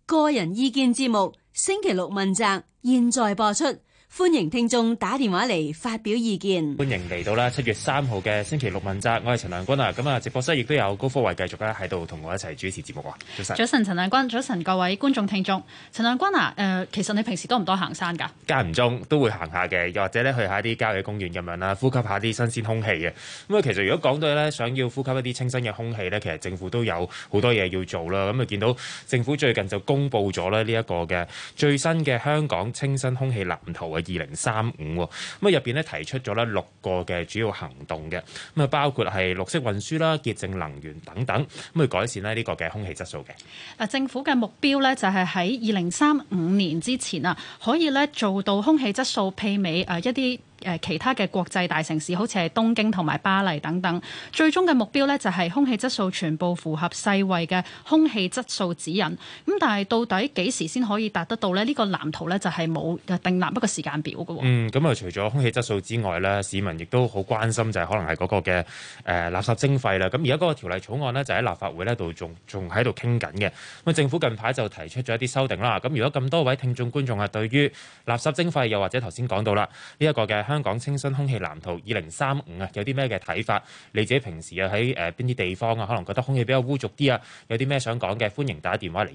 個人意見節目星期六問責，現在播出。歡迎聽眾打電話嚟發表意見。 歡迎嚟到啦7月3號嘅星期六問責，我係陳亮君啊。咁啊，直播室亦都有高科慧繼續咧喺度同我一齊主持節目啊。早晨， 早晨，陳亮君，早晨各位觀眾聽眾。陳亮君啊，其實你平時多唔多行山㗎？ 間唔中都會行下嘅，又或者咧去下啲郊野公園咁樣啦，呼吸下啲新鮮空氣嘅。咁啊，其實如果講到咧想要呼吸一啲清新嘅空氣咧，其實政府都有好多嘢要做啦。咁啊，見到政府最近就公布咗咧呢一個嘅最新嘅香港清新空氣藍圖嘅2035。咁啊，入邊咧提出咗咧6個嘅主要行動嘅，咁啊包括係綠色運輸啦、潔淨能源等等，咁去改善咧呢個嘅空氣質素嘅。 嗱，政府嘅目標咧就係喺2035年之前啊，可以咧做到空氣質素媲美一啲其他嘅國際大城市，好似係東京同埋巴黎等等。最終嘅目標呢，就係空氣質素全部符合世衛嘅空氣質素指引。咁但係到底幾時先可以達得到呢？呢個藍圖呢，就係冇定立一個時間表嘅。 咁啊，除咗空氣質素之外呢，市民亦都好關心就係可能係嗰個嘅垃圾徵費啦。咁而家嗰個條例草案呢，就喺立法會呢度仲喺度傾緊嘅。咁政府近排就提出咗一啲修訂啦。咁如果咁多位聽眾觀眾啊，對於垃圾徵費又或者頭先講到啦呢一個嘅香港清新空氣藍圖2035啊，有啲咩嘅睇法？你自己平時啊喺邊啲地方啊，可能覺得空氣比較污濁啲啊，有啲咩想講嘅？歡迎打電話嚟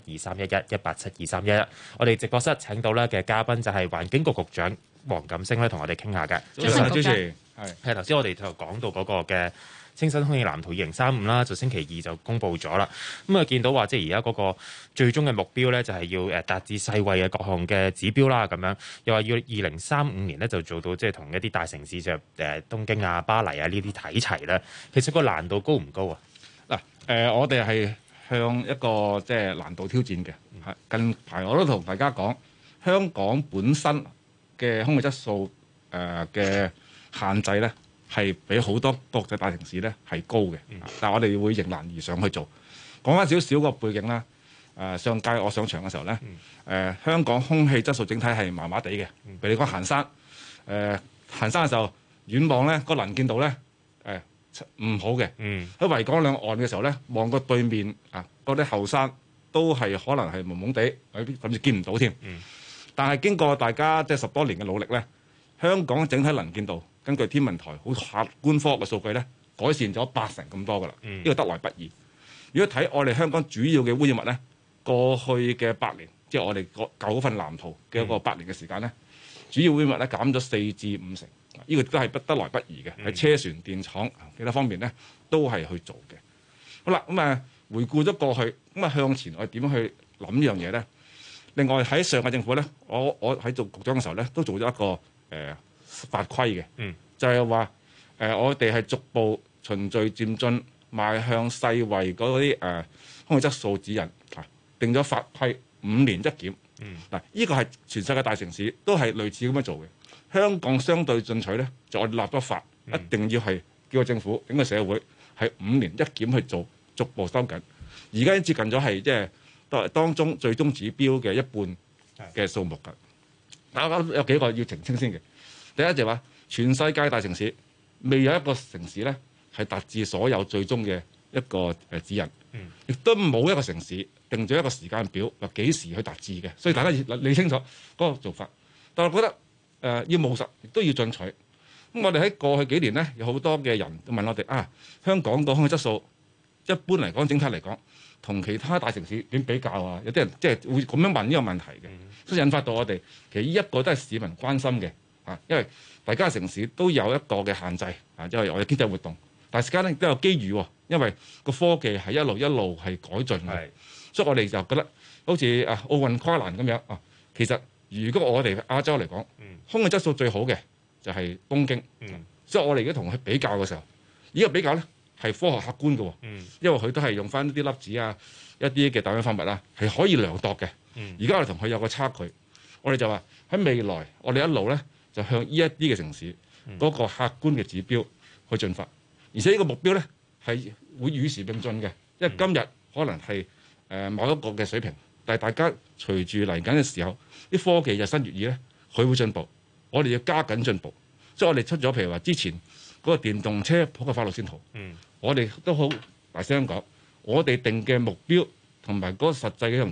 1872311，1872311。我哋直播室請到咧嘅嘉賓就係環境局局長黃錦星咧，同我哋傾下嘅。 早晨，主持係頭先我哋就講到嗰個嘅清新空氣藍圖2035啦，就星期2就公布咗啦。咁啊，見到話即係而家嗰個最終嘅目標咧，就係要達至世衛嘅各項嘅指標啦。咁樣又話要2035年咧就做到即係同一啲大城市就東京啊、巴黎啊呢啲睇齊咧。其實個難度高唔高啊？ 嗱，我哋係向一個即係難度挑戰嘅。近排我都同大家講，香港本身嘅空氣質素嘅限制咧，係比好多國際大城市咧係高嘅，但係我哋會迎難而上去做。講翻少少個背景啦，上屆我上場嘅時候咧，香港空氣質素整體係麻麻地嘅。譬如你講行山，行山嘅時候遠望咧個能見度咧唔好嘅。喺維港兩岸嘅時候咧，望過對面嗰啲後山都係可能係朦朦地，甚至見唔到添。但係經過大家即係10多年嘅努力咧，香港整體能見度根據天文台好客觀科學嘅數據咧，改善咗80%咁多噶啦。呢個得來不易。如果睇我哋香港主要嘅污染物咧，過去嘅8年，即係我哋舊嗰份藍圖嘅一個8年嘅時間咧，主要污染物咧減咗4至5成。呢個都係得來不易嘅，喺車船、電廠其他方面咧都係去做嘅。好啦，咁回顧咗過去，咁向前我哋點樣去諗呢樣嘢咧？另外喺上屆政府咧，我喺做局長嘅時候咧，都做咗一個法規嘅，就係話我哋係逐步循序漸進邁向世衛嗰啲空氣質素指引，定咗法規5年一檢。嗱，呢個係全世界大城市都係類似咁樣做嘅。香港相對進取咧，就我哋立咗法，一定要係叫個政府整個社會係5年一檢去做，逐步收緊。而家已經接近咗係即係當中最終指標嘅一半嘅數目㗎。但係有幾個要澄清先嘅。第一就係話，全世界大城市未有一個城市咧係達至所有最終嘅一個指引，亦都冇一個城市定咗一個時間表話幾時去達至嘅。所以大家要理清楚嗰個做法。但係我覺得要務實，亦都要進取。咁我哋喺過去幾年咧，有好多嘅人都問我哋香港個空氣質素一般嚟講，整體嚟講，同其他大城市點比較啊？有啲人即係會咁樣問呢個問題嘅，所以引發到我哋其實呢一個都係市民關心嘅因為大家城市都有一個嘅限制因為我哋經濟活動，但係時間咧都有機遇因為個科技係一路係改進嘅，所以我哋就覺得好似奧運跨欄咁樣其實如果我哋亞洲嚟講，空氣質素最好嘅就係東京，所以我哋而家同佢比較嘅時候，呢個比較咧係科學客觀嘅，因為佢都係用翻啲粒子一啲嘅氮氧化物係可以量度嘅。而家我哋同佢有個差距，我哋就話喺未來我哋一路咧就向呢一啲嘅城市嗰個客觀嘅指標去進發，而且呢個目標咧係會與時並進嘅，因為今日可能係某一個嘅水平，但係大家隨住嚟緊嘅時候，啲科技日新月異咧，佢會進步，我哋要加緊進步。所以我哋出咗譬如話之前嗰個電動車普及化路線圖，我哋都好大聲講，我哋定嘅目標同埋嗰個實際嘅一樣嘢，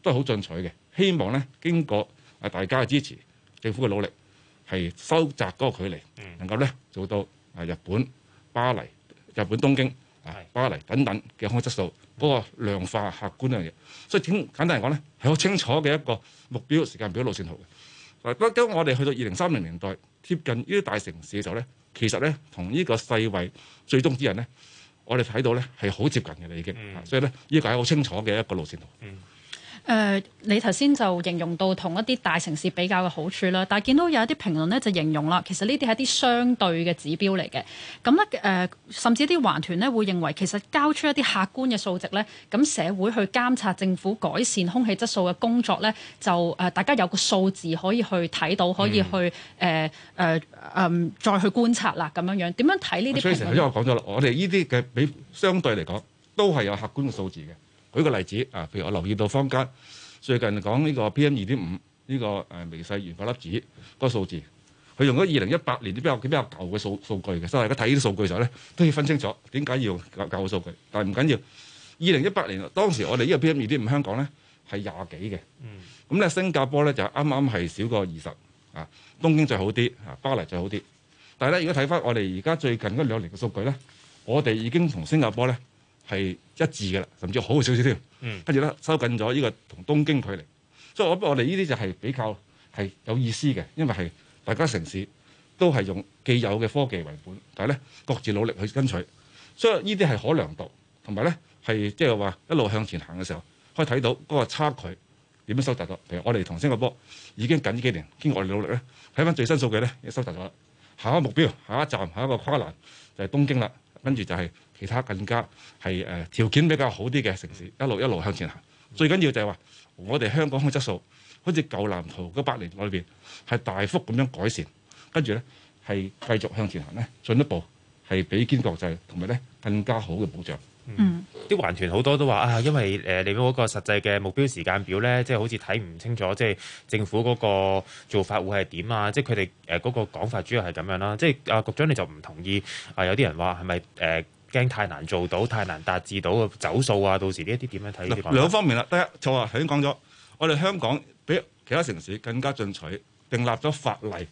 都係好進取嘅，希望咧經過大家嘅支持，政府嘅努力係收窄嗰個距離，能夠咧做到日本巴黎、日本東京、巴黎等等嘅空氣質素嗰個量化客觀嘅嘢。所以簡單嚟講咧，係好清楚嘅一個目標、時間表、路線圖嘅。當我哋去到2030年代貼近呢啲大城市嘅時候咧，其實咧同呢個世衛最終指引咧，我哋睇到咧係好接近嘅啦已經。所以咧呢個係好清楚嘅一個路線圖。 你頭先就形容到同一啲大城市比較嘅好處啦，但係見到有一啲評論咧就形容啦，其實呢啲係一啲相對嘅指標嚟嘅。咁咧甚至啲環團咧會認為其實交出一啲客觀嘅數值咧，咁社會去監察政府改善空氣質素嘅工作咧，就大家有個數字可以去睇到，可以去再去觀察啦咁樣樣。點樣睇呢啲評論？ 所以頭先我講咗啦，我哋呢啲嘅比相對嚟講都係有客觀嘅數字嘅。舉個例子啊，譬如我留意到坊間最近講呢個 PM2.5 呢個微細懸浮粒子嗰個數字，佢用咗2018年啲比較舊嘅數據嘅，所以大家睇呢啲數據嘅時候咧，都要分清楚點解要用舊嘅數據。但係唔緊要，2018年當時我哋呢個 PM2.5 香港咧係20幾嘅，咁咧新加坡咧就啱啱係少過20啊，東京最好啲啊，巴黎最好啲。但係咧，如果睇翻我哋而家最近嗰2年嘅數據咧，我哋已經同新加坡咧係一致嘅啦，甚至好少少添。跟住咧收緊咗呢個同東京距離，所以我哋呢啲就係比較係有意思嘅，因為係大家城市都係用既有嘅科技為本，但係咧各自努力去跟取，所以呢啲係可量度，同埋咧係即係話一路向前行嘅時候，可以睇到嗰個差距點樣收窄咗。譬如我哋同新加坡已經近呢幾年經過我哋努力咧，睇翻最新數據咧，已經收窄咗。下一個目標、下一站、下一個跨欄就係東京啦，跟住就係其他更加係條件比較好啲嘅城市，一路向前行。最緊要就係話，我哋香港空氣質素好似舊藍圖嗰8年裏邊係大幅咁樣改善，跟住咧係繼續向前行咧，進一步係比肩國際，同埋咧更加好嘅保障。 啲環團好多都話啊，因為你嗰個實際嘅目標時間表咧，即係好似睇唔清楚，即係政府嗰個做法會係點啊？即係佢哋嗰個講法主要係咁樣啦。即係局長你就唔同意啊？有啲人話係咪驚太難做到、太難達至到走數啊？到時呢一啲點樣睇呢啲講法？ 兩方面啦，第一就話頭先講咗，我哋香港比其他城市更加進取，訂立咗法例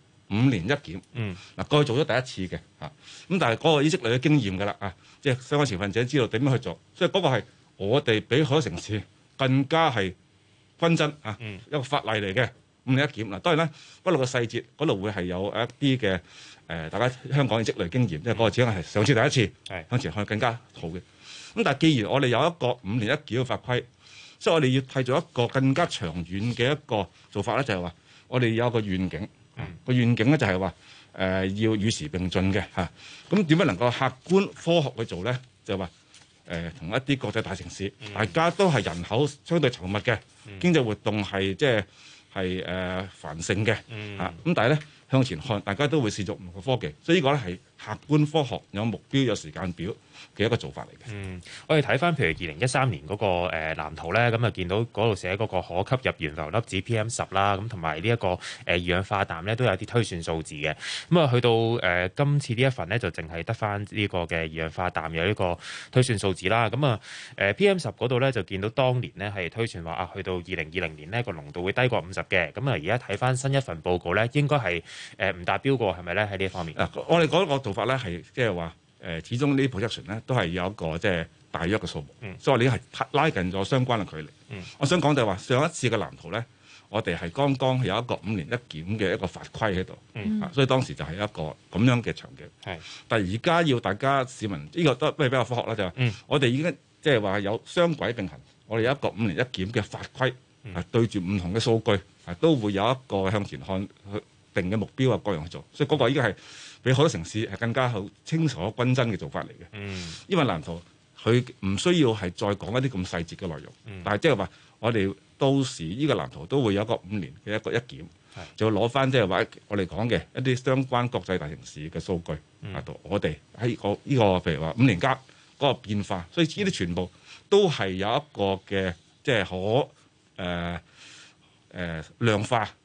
5年一檢。嗱過去做咗第一次嘅嚇，咁但係嗰個已積累嘅經驗㗎啦啊，即係相關持份者知道點樣去做，所以嗰個係我哋比好多城市更加係均真啊，一個法例嚟嘅5年一檢。嗱當然啦，不過個細節嗰度會係有一啲嘅大家香港嘅積累經驗，因為嗰個只係上次第一次，向前看更加好嘅。咁但係既然我哋有一個5年一檢嘅法規，所以我哋要締造一個更加長遠嘅一個做法咧，就係話我哋有一個願景，個願景咧就係話要與時並進嘅嚇。咁點樣能夠客觀科學去做咧？就係話同一啲國際大城市，大家都係人口相對稠密嘅，經濟活動係即係繁盛嘅嚇。咁但係咧向前看，大家都會試做唔同嘅科技，所以呢個咧係客觀科學有目標有時間表嘅一個做法嚟嘅。 我哋睇翻譬如2013年嗰個藍圖咧，咁啊見到嗰度寫嗰個可吸入懸浮粒子 PM10啦，咁同埋呢一個二氧化氮咧都有啲推算數字嘅。咁啊去到今次呢一份咧就淨係得翻呢個嘅二氧化氮有呢個推算數字啦。咁啊PM10嗰度咧就見到當年咧係推算話啊去到2020年呢個濃度會低過50嘅。咁啊而家睇翻新一份報告咧，應該係唔達標過係咪咧？喺呢一方面我哋嗰個做法咧係即係話始終呢啲 projection 咧都係有一個即係大約嘅數目，所以我哋係拉近咗相關嘅距離。我想講就係話上一次嘅藍圖咧，我哋係剛剛有一個5年一檢嘅一個法規喺度，所以當時就係一個咁樣嘅場景。但係而家要大家市民呢個都比較科學啦，就係我哋已經即係話有雙軌並行，我哋有一個5年一檢嘅法規，對住唔同嘅數據，都會有一個向前看定嘅目標啊，各樣去做，所以嗰個已經係比好多城市係更加好清楚均真嘅做法嚟嘅。因為藍圖佢唔需要係再講一啲咁細節嘅內容，但係即係話我哋到時呢個藍圖都會有一個5年嘅一個一檢，就攞翻即係話我哋講嘅一啲相關國際大城市嘅數據喺度，我哋喺呢個譬如話5年加嗰個變化，所以呢啲全部都係有一個嘅即係可量化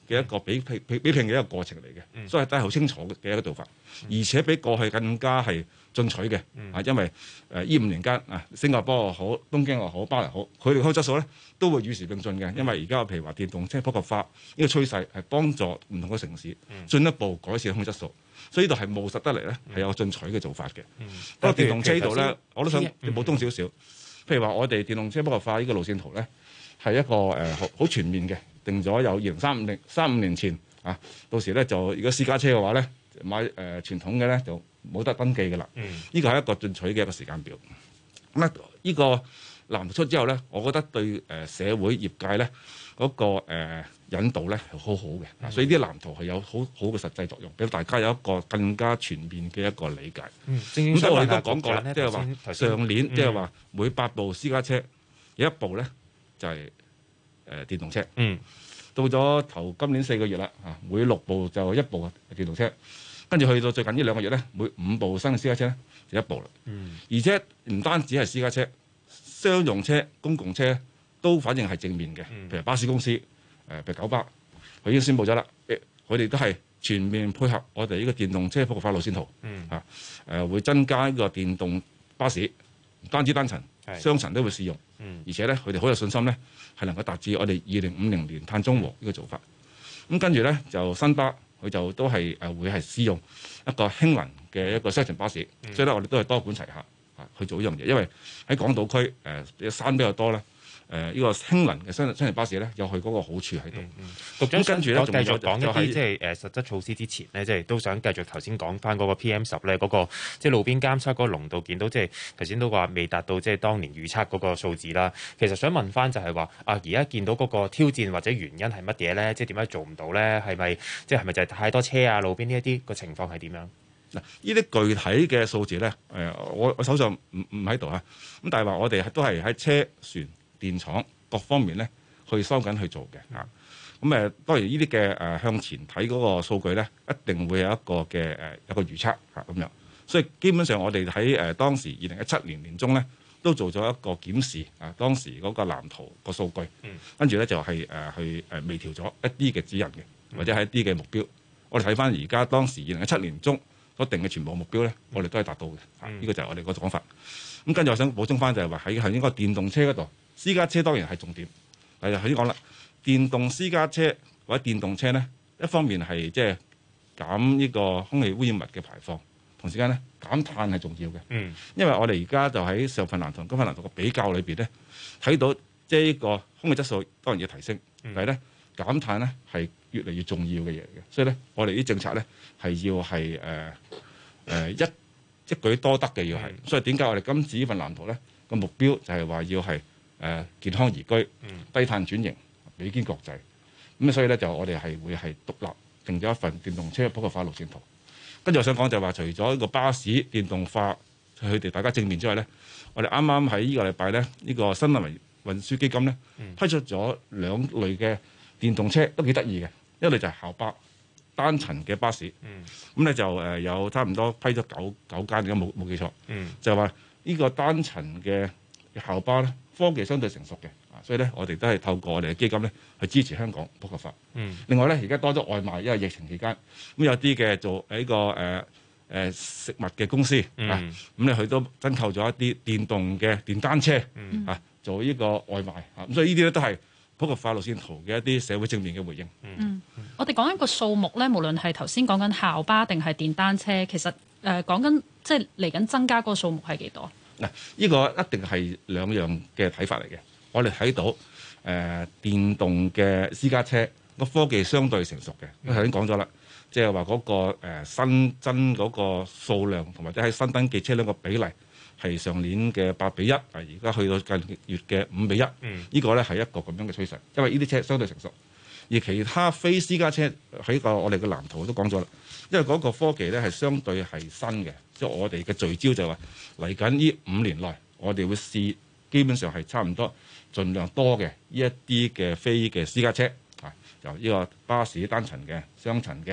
嘅一個比拼嘅一個過程嚟嘅，所以都係好清楚嘅一個做法，而且比過去更加係進取嘅。因為呢5年間新加坡又好、東京又好、巴黎又好，佢哋嘅空氣質素咧都會與時並進嘅。因為而家譬如話電動車普及化呢個趨勢係幫助唔同嘅城市進一步改善空氣質素，所以呢度係務實得嚟咧係有個進取嘅做法嘅。不過電動車呢度咧，我都想補充少少。譬如話我哋電動車普及化呢個路線圖咧係一個好全面嘅，定咗有2035年前到時咧就如果私家車嘅話咧買傳統嘅咧就冇得登記嘅啦。呢個係一個進取嘅一個時間表。咁咧呢個藍圖出之後咧，我覺得對社會業界咧嗰個引導咧係好好嘅。所以啲藍圖係有好好嘅實際作用，俾大家有一個更加全面嘅一個理解。咁所以我哋都講過啦，即係話上年即係話每8部私家車有1部咧就係電動車。到咗頭今年4個月啦，每6部就1部電動車，跟住去到最近呢2個月咧，每5部新嘅私家車咧就1部啦。而且唔單止係私家車，商用車、公共車都反正係正面嘅。譬如巴士公司，譬如九巴，佢已經宣布咗啦，佢哋都係全面配合我哋呢個電動車普及化路線圖。會增加呢個電動巴士，唔單止單層、雙層都會試用。而且咧，佢哋好有信心咧，係能夠達至我哋2050年碳中和呢個做法。咁跟住咧就新巴，佢就都係會係試用一個氫能嘅一個雙層巴士。所以咧，我哋都係多管齊下去做呢樣嘢，因為喺港島區山比較多咧。呢個氫能嘅雙層巴士咧，有佢嗰個好處喺度。 局長跟住咧， 繼續講一啲即係實質措施之前咧，即係都想繼續頭先講翻嗰個 PM10咧，嗰個即係路邊監測嗰個濃度，見到即係頭先都話未達到即係當年預測嗰個數字啦。其實想問翻就係話而家見到嗰個挑戰或者原因係乜嘢咧？即係點解做唔到咧？係咪就係太多車啊？路邊呢一啲個情況係點樣？ 嗱，呢啲具體嘅數字咧，我手上唔喺度啊。咁但係話我哋都係喺車船電廠各方面咧去收緊去做嘅。咁當然呢啲嘅向前睇嗰個數據咧，一定會有一個嘅一個預測咁樣。所以基本上我哋喺當時2017年年中咧，都做咗一個檢視當時嗰個藍圖個數據，跟住咧就係去微調咗一啲嘅指引嘅，或者係一啲嘅目標。我哋睇翻而家當時2017年中所定嘅全部目標咧，我哋都係達到嘅。呢個就係我哋個講法。咁跟住我想補充翻就係話喺應該電動車嗰度。私家車當然係重點，係頭先講啦。電動私家車或者電動車咧，一方面係即係減呢個空氣污染物嘅排放，同時間咧減碳係重要嘅。因為我哋而家就喺上份藍圖、今份藍圖嘅比較裏邊咧，睇到即係呢個空氣質素當然要提升，但係咧減碳咧係越嚟越重要嘅嘢嘅。所以咧，我哋啲政策咧係要係一舉多得嘅要係。所以點解我哋今次呢份藍圖咧個目標就係話要係健康宜居、低碳轉型、比肩國際。咁所以咧就我哋係會係獨立定咗一份電動車普及化路線圖。跟住我想講就係話，除咗呢個巴士電動化佢哋大家正面之外咧，我哋啱啱喺呢個禮拜咧，呢個新能源運輸基金咧批出咗2類嘅電動車，都幾得意嘅。一類就係校巴單層嘅巴士，咁咧就有差唔多批咗9間，而家冇記錯，就係話呢個單層嘅校巴咧，科技相對成熟嘅，所以咧我哋都係透過我哋嘅基金咧去支持香港普及化。另外咧，而家多咗外賣，因為疫情期間，咁有啲嘅做呢個食物嘅公司咁咧佢都增購咗一啲電動嘅電單車做呢個外賣咁所以呢啲咧都係普及化路線圖嘅一啲社會正面嘅回應。 我哋講緊個數目咧，無論係頭先講緊校巴定係電單車，其實講緊即係嚟緊增加嗰個數目係幾多？ 嗱，呢個一定係兩樣嘅睇法嚟嘅。我哋睇到電動嘅私家車個科技相對成熟嘅，因為頭先講咗啦，即係話嗰個新增嗰個數量同埋即係新登記車輛個比例係上年嘅8:1，而家去到近月嘅5:1。呢個咧係一個咁樣嘅趨勢，因為呢啲車相對成熟，而其他非私家車喺個我哋嘅藍圖都講咗啦，因為嗰個科技咧係相對係新嘅。即係我哋嘅聚焦就係話嚟緊呢5年內，我哋會試基本上係差唔多盡量多嘅呢一啲嘅非嘅私家車由呢個巴士單層嘅、雙層嘅、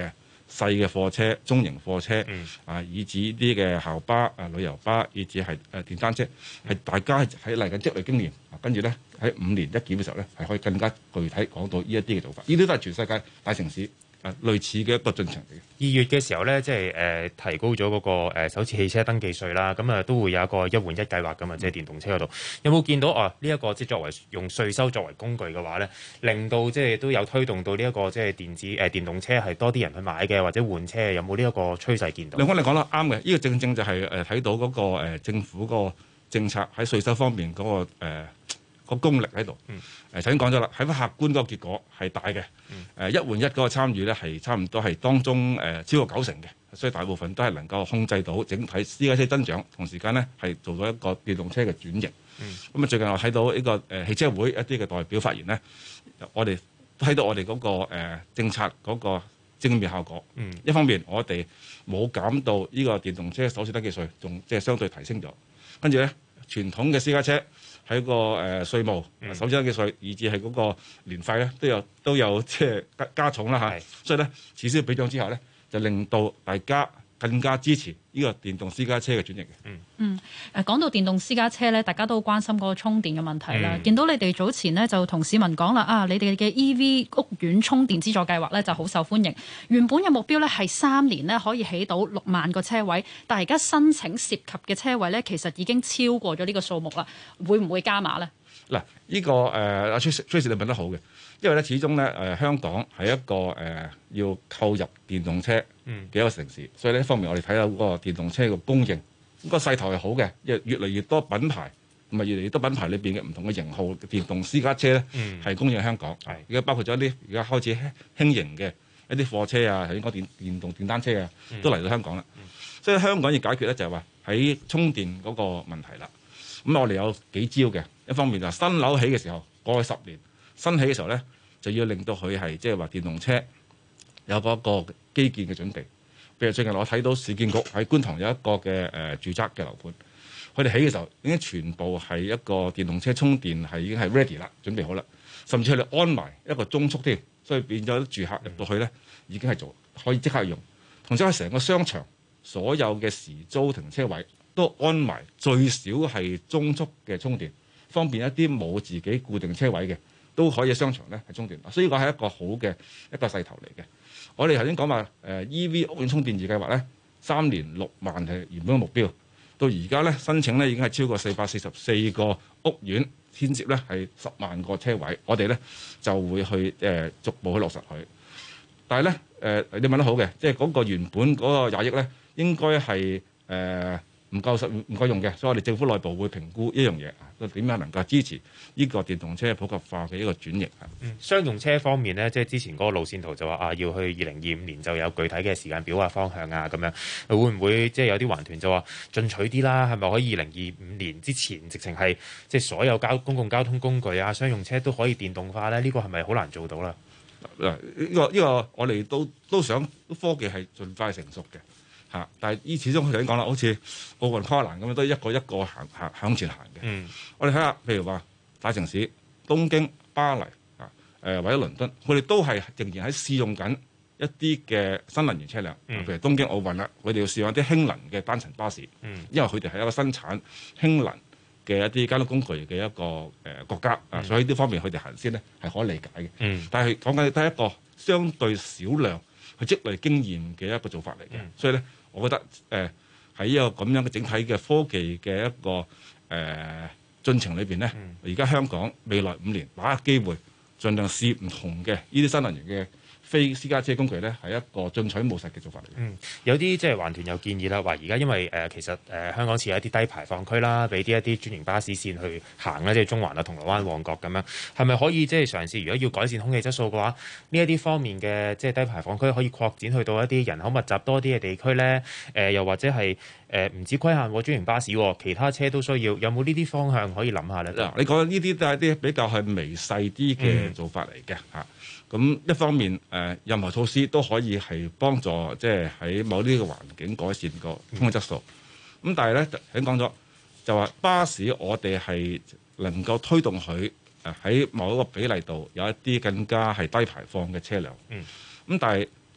細嘅貨車、中型貨車以至啲嘅校巴、旅遊巴，以至係電單車，係大家喺嚟緊積累經驗，跟住咧喺5年一檢嘅時候咧，係可以更加具體講到呢一啲嘅做法。呢啲都係全世界大城市類似嘅一個進程嚟嘅。 2月嘅時候咧，即係提高咗嗰個首次汽車登記稅啦，咁都會有一個1換1計劃噶嘛，即係電動車嗰度。有冇見到呢一個即係作為用稅收作為工具嘅話咧，令到即係都有推動到呢一個即係電動車係多啲人去買嘅，或者換車，有冇呢一個趨勢見到？ 兩方你講得啱嘅，呢個正正就係睇到嗰個政府個政策喺稅收方面嗰個功力喺度。頭先講咗啦，喺客觀嗰個結果係大嘅。1換1嗰個參與咧係差唔多係當中超過90%嘅，所以大部分都係能夠控制到整體私家車增長，同時間咧係做到一個電動車嘅轉型。咁最近我睇到呢個汽車會一啲嘅代表發言咧，我哋睇到我哋嗰個政策嗰個正面效果。一方面我哋冇減到呢個電動車首次登記稅，仲即係相對提升咗。跟住咧，傳統嘅私家車喺個稅務首次登記稅，以至係嗰個年費咧都有即係加重啦嚇。所以咧，此消彼長之後咧，就令到大家更加支持呢個電動私家車嘅轉型嘅。 講到電動私家車咧，大家都關心嗰個充電嘅問題啦。見到你哋早前呢，就同市民講啦，你哋嘅 EV 屋苑充電資助計劃咧就好受歡迎。原本嘅目標咧係3年咧可以起到6萬個車位，但係而家申請涉及嘅車位咧，其實已經超過咗呢個數目啦。會唔會加碼咧？ 嗱，呢個阿 Tracy 你問得好嘅，因為咧始終咧香港係一個要購入電動車嘅一個城市，所以呢一方面我哋睇到嗰個電動車嘅供應，個勢頭係好嘅，因為越嚟越多品牌同埋越嚟越多品牌裏邊嘅唔同嘅型號嘅電動私家車咧係供應香港，而家包括咗一啲而家開始輕型嘅一啲貨車啊，頭先講電動電單車啊，都嚟到香港啦。所以香港要解決咧就係話喺充電嗰個問題啦。咁我哋有幾招嘅，一方面就新樓起嘅時候，過去10年新起嘅時候咧，就要令到佢係即係話電動車有嗰個基建嘅準備。譬如最近我睇到市建局喺觀塘有一個嘅住宅嘅樓盤，佢哋起嘅時候已經全部係一個電動車充電係已經係 ready 啦，準備好啦，甚至佢哋安埋一個中速添，所以變咗住客入到去咧已經係做可以即刻用，同時喺成個商場所有嘅時租停車位都安埋最少係中速嘅充電，方便一啲冇自己固定車位嘅都可以喺商場咧係充電，所以呢個係一個好嘅一個勢頭嚟嘅。我哋頭先講話EV 屋苑充電易計劃咧，3年6萬係原本嘅目標，到而家咧申請咧已經係超過444個屋苑，牽涉咧係10萬個車位，我哋咧就會去逐步去落實佢。但係咧你問得好嘅，即係嗰個原本嗰個20億咧，應該係唔夠用嘅，所以我哋政府內部會評估一樣嘢，點樣能夠支持呢個電動車普及化嘅一個轉型。 商用車方面呢，即係之前嗰個路線圖就話要去2025年就有具體嘅時間表啊、方向啊咁樣，會唔會即係有啲環團就話進取啲啦？係咪可以2025年之前直情係即係所有公共交通工具啊、商用車都可以電動化咧？呢個係咪好難做到啦？ 呢個我哋都想科技係盡快成熟嘅。但係始終佢頭先講啦，好似奧運跨欄咁樣，都係一個向前行嘅。我哋睇下，譬如話大城市東京、巴黎或者倫敦，佢哋都係仍然喺試用緊一啲嘅新能源車輛。譬如東京奧運啦，佢哋要試用一啲氫能嘅單層巴士，因為佢哋係一個生產氫能嘅一啲交通工具嘅一個國家所以呢方面佢哋行先咧係可以理解嘅。但係講緊都係一個相對少量去積累經驗嘅一個做法嚟嘅，所以咧。我覺得喺一個咁樣嘅整體嘅科技嘅一個進程裏邊咧，而家香港未來5年把握機會，盡量試唔同嘅呢啲新能源嘅非私家車工具咧，係一個進取務實嘅做法嚟嘅。 有啲即係環團有建議啦，話而家因為其實香港設有一啲低排放區啦，俾一啲專營巴士線去行啦，即係中環啊、銅鑼灣、旺角咁樣，係咪可以即係嘗試？如果要改善空氣質素嘅話，呢一啲方面嘅即係低排放區可以擴展去到一啲人口密集多啲嘅地區咧？又或者係唔止規限專營巴士，其他車都需要，有冇呢啲方向可以諗下咧？ 嗱，你講呢啲都係啲比較係微細啲嘅做法嚟嘅嚇。咁一方面任何措施都可以係幫助即係喺某啲嘅環境改善個空氣質素。咁但係咧，已經講咗就話巴士我哋係能夠推動佢喺某一個比例度有一啲更加係低排放嘅車輛。咁但係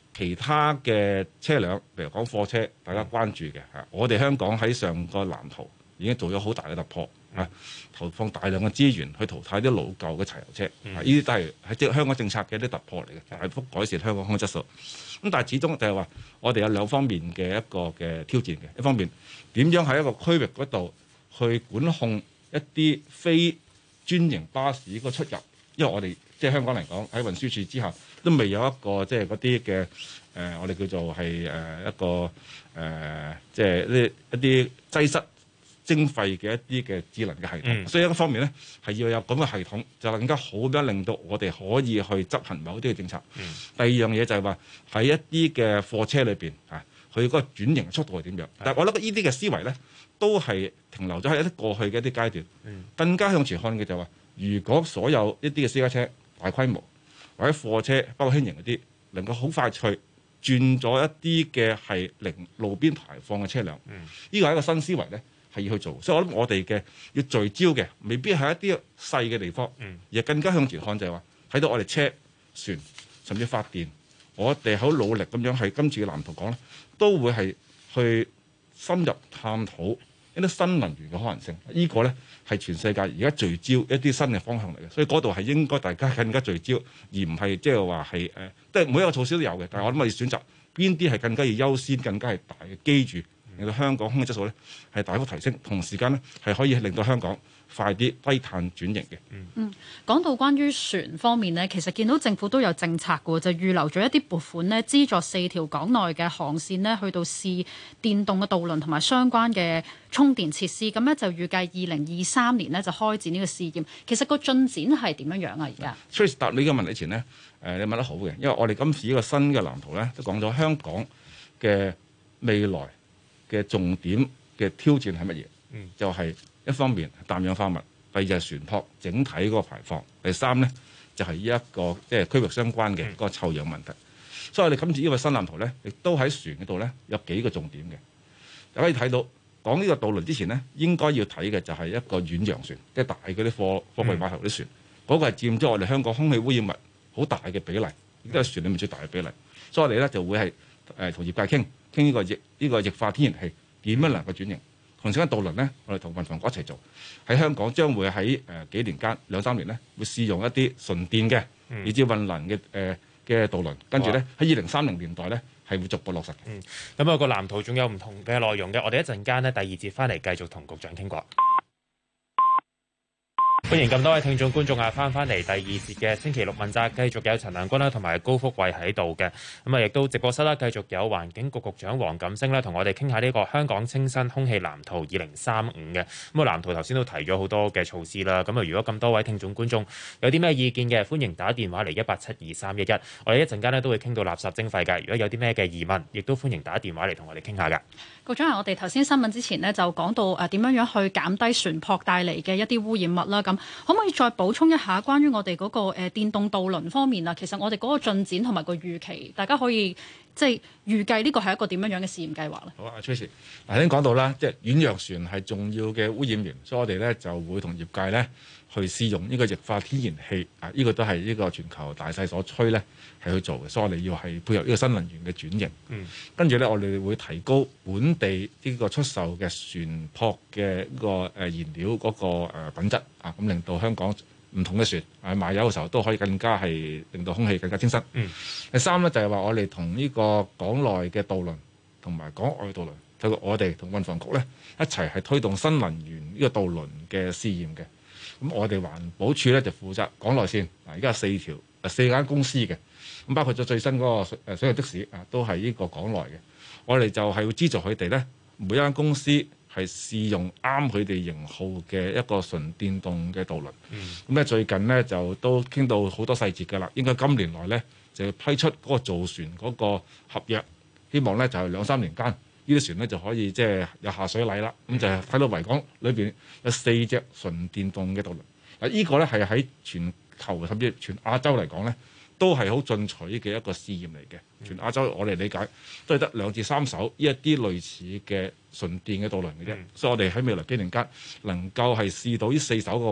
其他嘅車輛，譬如講貨車，大家關注嘅嚇，我哋香港喺上個藍圖已經做咗好大嘅突破嚇，投放大量嘅資源去淘汰啲老舊嘅柴油車，呢啲都係喺即係香港政策嘅一啲突破嚟嘅，大幅改善香港空氣質素。咁但係始終就係話，我哋有兩方面嘅一個嘅挑戰嘅，一方面點樣喺一個區域嗰度去管控一啲非專營巴士個出入，因為我哋即係香港嚟講喺運輸署之下都未有一個即係嗰啲嘅我哋叫做係一個即係呢一啲擠塞徵費嘅一啲嘅智能嘅系統，所以一個方面咧係要有咁嘅系統，就更加好咁令到我哋可以去執行某啲嘅政策。第二樣嘢就係話喺一啲嘅貨車裏邊啊，佢嗰個轉型速度係點樣？但係我覺得呢啲嘅思維咧都係停留咗喺一啲過去嘅一啲階段，更加向前看嘅就係話，如果所有一啲嘅私家車大規模或者貨車包括輕型嗰啲，能夠好快脆轉咗一啲嘅係零路邊排放嘅車輛，呢個係一個新思維咧。係要去做，所以我諗我哋嘅要聚焦嘅，未必係一啲細嘅地方，而更加向前看就係話睇到我哋車船甚至發電，我哋好努力咁樣係今次嘅藍圖講咧，都會係去深入探討一啲新能源嘅可能性。呢個咧係全世界而家聚焦一啲新嘅方向嚟嘅，所以嗰度係應該大家更加聚焦，而唔係即係話係即係每一個措施都有嘅，但係我諗我哋選擇邊啲係更加要優先、更加係大嘅基住。令到香港空氣質素咧係大幅提升，同時間咧係可以令到香港快啲低碳轉型嘅。 講到關於船方面呢，其實見到政府都有政策嘅，就預留咗一啲撥款呢，資助4條港內嘅航線呢，去到試電動嘅渡輪同埋相關嘅充電設施。咁咧就預計2023年呢就開展呢個試驗。其實個進展係點樣樣啊？而家 Trace 答你嘅問題前呢，你問得好嘅，因為我哋今次呢個新嘅藍圖咧都講咗香港嘅未來嘅重點嘅挑戰係乜嘢？就係一方面氮氧化物，第二就係船舶整體嗰個排放，第三咧就係呢一個即係區域相關嘅嗰個臭氧問題。所以我哋今次呢個新藍圖咧，亦都喺船嗰度咧有幾個重點嘅。大家可以睇到講呢個渡輪之前咧，應該要睇嘅就係一個遠洋船，即係大嗰啲貨櫃碼頭啲船，嗰個係佔咗我哋香港空氣污染物好大嘅比例，亦都係船裡面最大嘅比例。所以我哋咧就會係同業界傾呢個液化天然氣點樣能夠轉型。同時間渡輪咧，我哋同運房局一齊做，喺香港將會喺幾年間2-3年咧，會試用一啲純電嘅，以至運能嘅渡輪，跟住咧喺2030年代咧係會逐步落實嘅。 咁個藍圖仲有唔同嘅內容嘅，我哋一陣間咧第二節翻嚟繼續同局長傾過。歡迎咁多位聽眾觀眾翻嚟第二節嘅星期六問責，繼續有陳良君啦同埋高福慧喺度嘅。亦都直播室啦，繼續有環境局局長黃錦星咧同我哋傾下呢個香港清新空氣藍圖2035嘅。藍圖頭先都提咗好多嘅措施啦。如果咁多位聽眾觀眾有啲咩意見嘅，歡迎打電話嚟1872311。我哋一陣間咧都會傾到垃圾徵費嘅。如果有啲咩嘅疑問，亦都歡迎打電話嚟同我哋傾下㗎。 局長，我哋頭先新聞之前呢，就講到點樣去減低船舶帶嚟嘅一啲污染物啦。咁可唔可以再補充一下關於我哋嗰個電動渡輪方面啊？其實我哋嗰個進展同埋個預期，大家可以即係預計呢個係一個點樣樣嘅試驗計劃咧？ 好啊，Tracy，頭先講到啦，即係遠洋船係重要嘅污染源，所以我哋咧就會同業界咧去試用呢個液化天然氣啊，呢個都係呢個全球大勢所趨咧係去做嘅，所以我哋要係配合呢個新能源嘅轉型。跟住咧，我哋會提高本地呢個出售嘅船舶嘅呢個燃料嗰個品質啊，咁令到香港唔同嘅船賣油嘅時候都可以更加係令到空氣更加清新。第三咧就係話我哋同呢個港內嘅渡輪同埋港外渡輪，透過我哋同運房局咧一齊係推動新能源呢個渡輪嘅試驗嘅。咁我哋環保署咧就負責港內線，而家有4間公司嘅，咁包括咗最新嗰個水上的士啊，都係呢個港內嘅。我哋就係會資助佢哋咧，每一間公司係試用啱佢哋型號嘅一個純電動嘅渡輪。咁咧最近咧就都傾到好多細節㗎啦，應該今年內咧就要批出嗰個造船嗰個合約，希望咧就係2-3年間呢啲船咧就可以即係有下水禮啦。咁就係睇到維港裏邊有4隻純電動嘅渡輪。嗱，呢個咧係喺全球甚至全亞洲嚟講咧，都係好進取嘅一個試驗嚟嘅。全亞洲我哋理解都係得2至3艘呢一啲類似嘅純電嘅渡輪嘅啫。所以我哋喺未來幾年間能夠係試到呢4艘嘅話，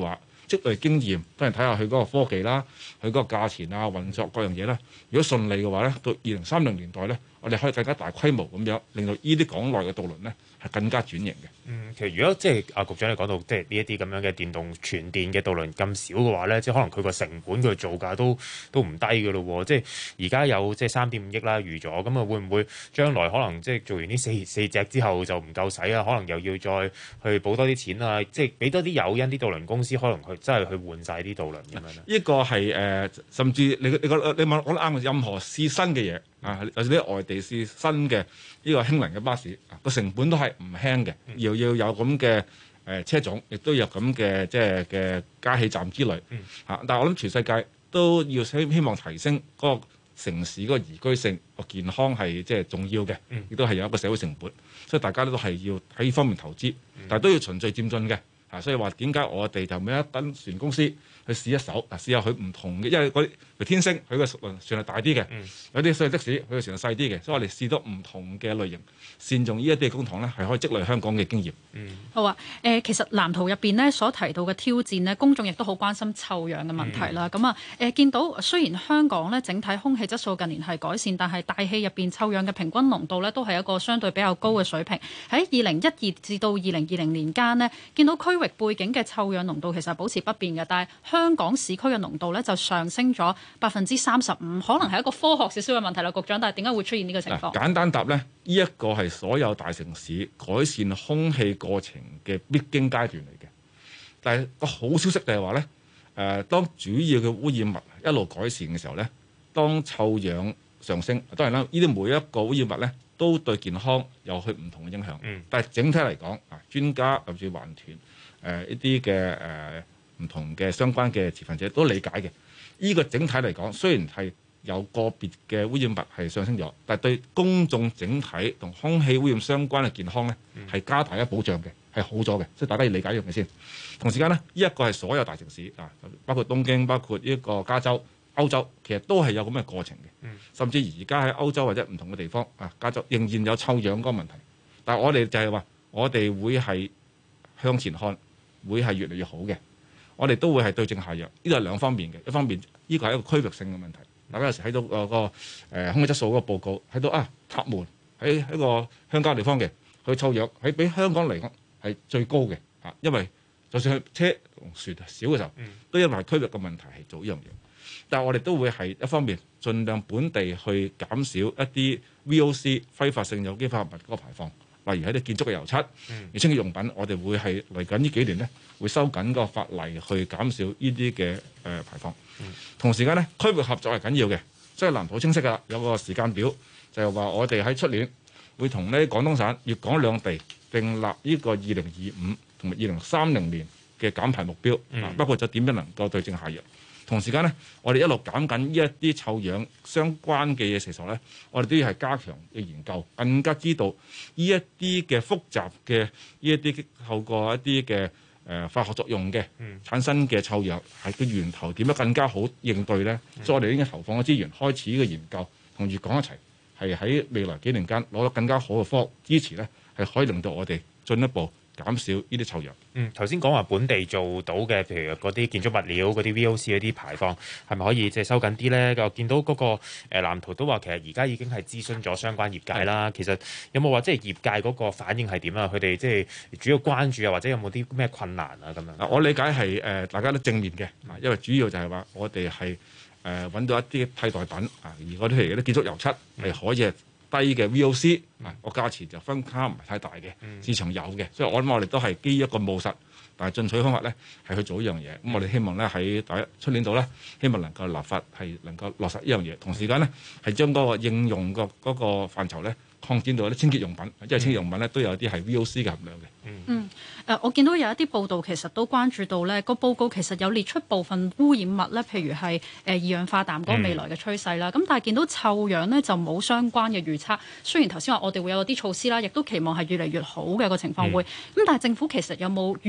積累經驗，當然睇下佢嗰個科技啦，佢嗰個價錢啊、運作各樣嘢啦。如果順利嘅話咧，到2030年代咧，我哋可以更加大規模咁樣，令到呢啲港內嘅渡輪咧係更加轉型嘅。 其實如果即係局長你講到即係呢一啲咁樣嘅電動全電嘅渡輪咁少嘅話咧，即係可能佢個成本佢造價都唔低嘅咯喎。即係而家有即係3.5億啦預咗，咁啊會唔會將來可能即係做完呢四隻之後就唔夠使啊？可能又要再去補多啲錢啊？即係俾多啲誘因啲渡輪公司可能去真係去換晒啲渡輪咁樣咧？ 呢個係甚至你問我啱，任何試新嘅嘢啊，有啲外地試新嘅呢個氫能嘅巴士個成本都係唔輕嘅，要有咁嘅車種，亦都有咁嘅即係嘅加氣站之類嚇。但係我諗全世界都要希望提升嗰個城市嗰個宜居性、個健康係即係重要嘅，亦都係有一個社會成本，所以大家都係要喺呢方面投資，但係都要循序漸進嘅。所以話點解我哋就每一間船公司去試一艘，試下佢唔同嘅，因為嗰啲天星佢個船係大啲嘅，有啲所謂的士佢個船係細啲嘅，所以我哋試到唔同嘅類型，善用呢一啲嘅公帑咧，係可以積累香港嘅經驗。 好啊，其實藍圖入邊咧所提到嘅挑戰咧，公眾亦都好關心臭氧嘅問題啦。咁見到雖然香港咧整體空氣質素近年係改善，但係大氣入邊臭氧嘅平均濃度咧都係一個相對比較高嘅水平。喺2012至到2020年間呢，見到區域背景嘅臭氧濃度其實保持不變嘅，但係香港市區嘅濃度咧就上升咗35%，可能係一個科學少少嘅問題啦，局長。但係點解會出現呢個情況？ 簡單答咧，呢一個係所有大城市改善空氣過程嘅必經階段嚟嘅。但係個好消息就係話咧，當主要嘅污染物一路改善嘅時候咧，當臭氧上升，當然啦，呢啲每一個污染物咧都對健康有佢唔同嘅影響。但係整體嚟講，專家甚至環團一啲嘅唔同嘅相關嘅持份者都理解嘅。呢個整體嚟講，雖然係有個別嘅污染物係上升咗，但係對公眾整體同空氣污染相關嘅健康咧係加大一保障嘅，係好咗嘅。所以大家要理解呢樣嘢先。同時間咧，呢一個係所有大城市包括東京、包括呢個加州、歐洲，其實都係有咁嘅過程嘅。甚至而家喺歐洲或者唔同嘅地方加州仍然有臭氧嗰個問題。但係我哋就係話，我哋會係向前看，會係越嚟越好嘅。我哋都會係對症下藥，呢度係兩方面嘅。一方面，呢個係一個區域性嘅問題。大家有時睇到個空氣質素嗰個報告，睇到塔門喺一個鄉郊地方嘅，佢臭氧喺比香港嚟講係最高嘅。因為就算係車同船少嘅時候，都因為區域嘅問題係做呢樣嘢。但係我哋都會係一方面盡量本地去減少一啲 VOC 揮發性有機化合物嗰個排放。例如喺啲建築嘅油漆、清潔用品，我哋會係嚟緊呢幾年咧，會收緊個法例去減少呢啲嘅排放。同時間咧，區域合作係緊要嘅，所以藍圖清晰㗎啦，有個時間表，就係話我哋喺出年會同呢廣東省、粵港兩地訂立呢個2025同埋2030年嘅減排目標，包括咗點樣能夠對症下藥。同時間咧，我哋一路減緊呢一啲臭氧相關嘅嘢時候咧，我哋都要係加強嘅研究，更加知道呢一啲嘅複雜嘅呢一啲透過一啲嘅化學作用嘅產生嘅臭氧係個源頭點樣更加好應對咧？所以我哋應該投放嘅資源開始呢個研究，同粵港一齊係喺未來幾年間攞到更加好嘅科學支持咧，係可以令到我哋進一步減少呢啲臭氧。 頭先講話本地做到嘅，譬如嗰啲建築物料、嗰啲 VOC 嗰啲排放，係咪可以即係收緊啲咧？我見到嗰個藍圖都話，其實而家已經係諮詢咗相關業界啦。其實有冇話即係業界嗰個反應係點啊？佢哋即係主要關注啊，或者有冇啲咩困難啊咁樣？ 我理解係大家都正面嘅，因為主要就係話我哋係揾到一啲替代品而嗰啲譬如啲建築油漆係可以低嘅 VOC 個價錢就分差唔係太大嘅，市場有嘅，所以我諗我哋都係基於一個務實但係進取方法咧，係去做一樣嘢。咁我哋希望咧喺出年度咧，希望能夠立法係能夠落實呢樣嘢，同時間咧係將嗰個應用嗰個範疇咧擴展到啲清潔用品，因為清潔用品咧都有啲係 VOC 嘅含量嘅。 我見到有一啲報道其實都關注到咧，個報告其實有列出部分污染物咧，譬如係二氧化氮嗰個未來嘅趨勢啦。咁但係見到臭氧咧就冇相關嘅預測。雖然頭先話我哋會有啲措施啦，亦都期望係越嚟越好嘅個情況會。咁但係政府其實有冇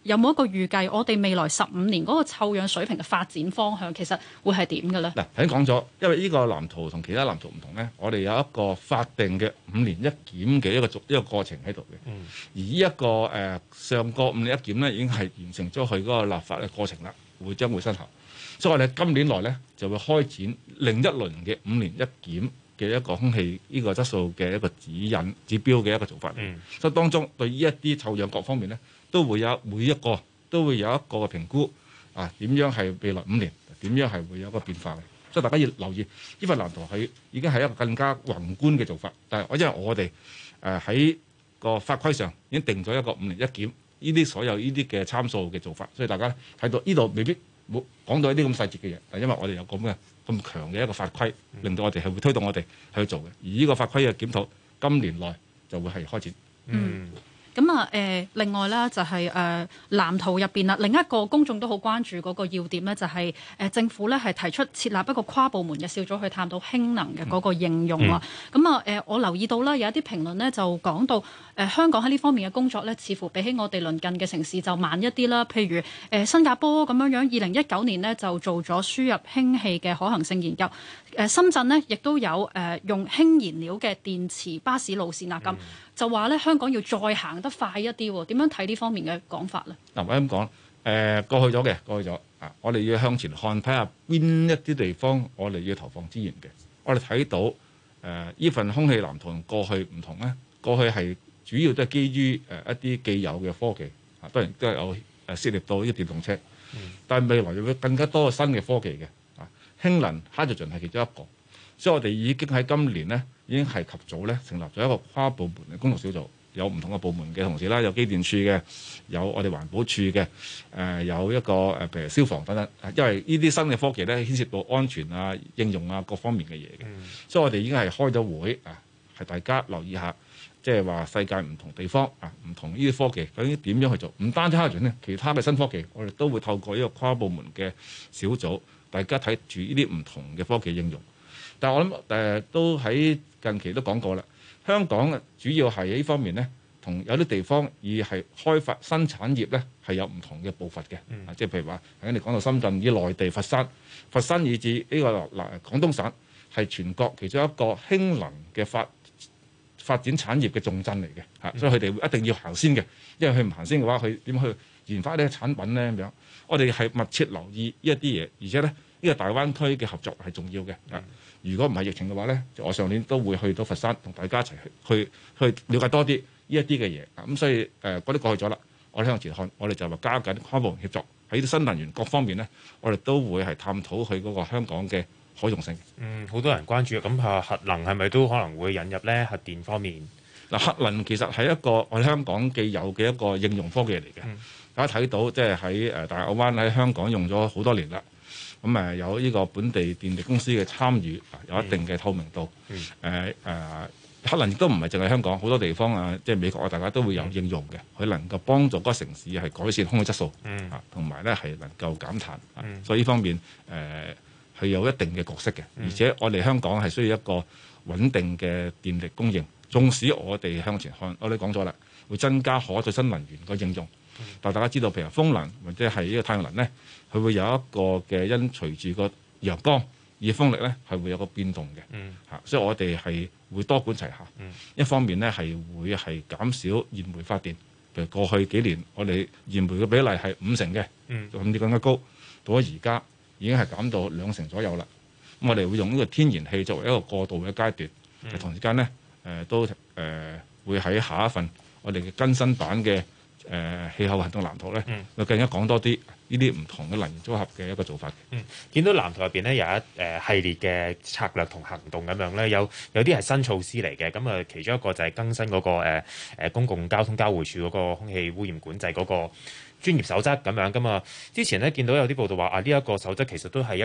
有冇一個預計？我哋未來15年嗰個臭氧水平嘅發展方向其實會係點嘅咧？ 嗱，頭先講咗，因為呢個藍圖同其他藍圖唔同咧，我哋有一個法定嘅5年一檢嘅一個過程喺度嘅。而呢一個上個5年一檢咧，已經係完成咗佢嗰個立法嘅過程啦，將會生效。所以我哋今年內咧就會開展另一輪嘅5年一檢嘅一個空氣呢個質素嘅一個指標嘅一個做法。所以當中對呢一啲臭氧各方面咧，都會有每一個都會有一個嘅評估啊，點樣係未來5年點樣係會有一個變化嘅。所以大家要留意呢份藍圖係已經係一個更加宏觀嘅做法。但係因為我哋喺個法規上已經定咗一個5年一檢呢啲所有呢啲嘅參數嘅做法，所以大家睇到呢度未必冇講到一啲咁細節嘅嘢。但係因為我哋有咁強嘅一個法規，令到我哋係會推動我哋去做嘅。而呢個法規嘅檢討今年內就會係開展。 咁啊另外咧就係藍圖入邊啦，另一個公眾都好關注嗰個要點咧，就係政府咧係提出設立一個跨部門嘅小組去探討氫能嘅嗰個應用啊。咁我留意到啦，有一啲評論咧就講到香港喺呢方面嘅工作咧，似乎比起我哋鄰近嘅城市就慢一啲啦。譬如新加坡咁樣2019年呢就做咗輸入氫氣嘅可行性研究。深圳呢亦都有用氫燃料嘅電池巴士路線啊，咁就話咧香港要再行得快一啲喎。點樣睇呢方面嘅講法咧？ 嗱，我咁講，過去咗啊，我哋要向前看，睇下邊一啲地方我哋要投放資源嘅。我哋睇到呢份空氣藍圖同過去唔同咧，過去係主要都係基於一啲既有嘅科技啊，當然都係有涉獵到呢個電動車，但係未來會更加多新嘅科技嘅。氫能 hydrogen 係其中一個，所以我哋已經喺今年咧已經係及早咧成立咗一個跨部門嘅工作小組，有唔同嘅部門嘅同事啦，有機電處嘅，有我哋環保處嘅，有一個譬如消防等等，因為呢啲新嘅科技咧牽涉到安全啊、應用啊各方面嘅嘢嘅，所以我哋已經係開咗會啊，係大家留意下，即係話世界唔同地方啊，唔同呢啲科技究竟點樣去做，唔單止 hydrogen 咧，其他嘅新科技我哋都會透過呢個跨部門嘅小組。大家睇住呢啲唔同嘅科技應用，但係我諗都喺近期都講過啦。香港主要係喺呢方面咧，同有啲地方以係開發新產業咧係有唔同嘅步伐嘅。即係譬如話，頭先你講到深圳以內地佛山以至呢個廣東省係全國其中一個氫能嘅發展產業嘅重鎮嚟嘅嚇，所以佢哋一定要行先嘅，因為佢唔行先嘅話，佢點去研發呢個產品咧咁樣？我哋係密切留意呢一啲嘢，而且咧呢個大灣區嘅合作係重要嘅。如果唔係疫情嘅話咧，我上年都會去到佛山同大家一齊去了解多啲呢一啲嘅嘢。咁所以嗰啲過去咗啦，我哋向前看，我哋就話加緊跨部門協作喺啲新能源各方面咧，我哋都會係探討佢嗰個香港嘅可用性。 好多人關注咁核能係咪都可能會引入咧？核電方面嗱，核能其實係一個我哋香港既有嘅一個應用科技嚟嘅。大家睇到即係喺大澳灣喺香港用咗好多年啦，咁有呢個本地電力公司嘅參與，有一定嘅透明度。核能亦都唔係淨係香港，好多地方啊，即係美國啊，大家都會有應用嘅。佢能夠幫助嗰個城市係改善空氣質素，同埋咧係能夠減碳。所以呢方面係有一定嘅角色嘅。而且我哋香港係需要一個穩定嘅電力供應。縱使我哋向前看，我哋講咗啦，會增加可再生能源個應用。但大家知道，譬如風能或者係呢個太陽能咧，佢會有一個嘅因隨住個陽光而風力咧係會有個變動嘅。所以我哋係會多管齊下。一方面咧係會係減少燃煤發電，譬如過去幾年我哋燃煤嘅比例係50%嘅，甚至更加高，到咗而家已經係減到2成左右啦。咁我哋會用呢個天然氣作為一個過渡嘅階段，同時間咧都會喺下一份我哋嘅更新版嘅氣候行動藍圖咧，就更加講多啲呢啲唔同嘅能源組合嘅一個做法。 見到藍圖入邊咧有一系列嘅策略同行動咁樣咧，有啲係新措施嚟嘅。咁其中一個就係更新嗰個公共交通交匯處嗰個空氣污染管制嗰個專業守則咁樣噶嘛。之前咧見到有啲報道話呢一個守則其實都係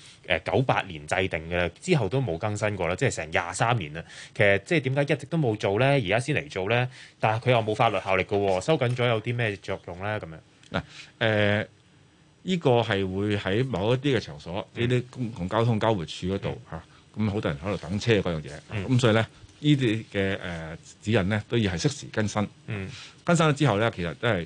1998年制定嘅，之後都冇更新過啦，即係成23年啦。其實即係點解一直都冇做咧，而家先嚟做咧？但係佢又冇法律效力嘅喎，收緊咗有啲咩作用咧？咁樣嗱呢個係會喺某一啲嘅場所，呢啲公共交通交匯處嗰度嚇，咁好多人喺度等車嗰樣嘢，咁所以咧呢啲嘅指引咧都要係適時更新。更新咗之後咧，其實都係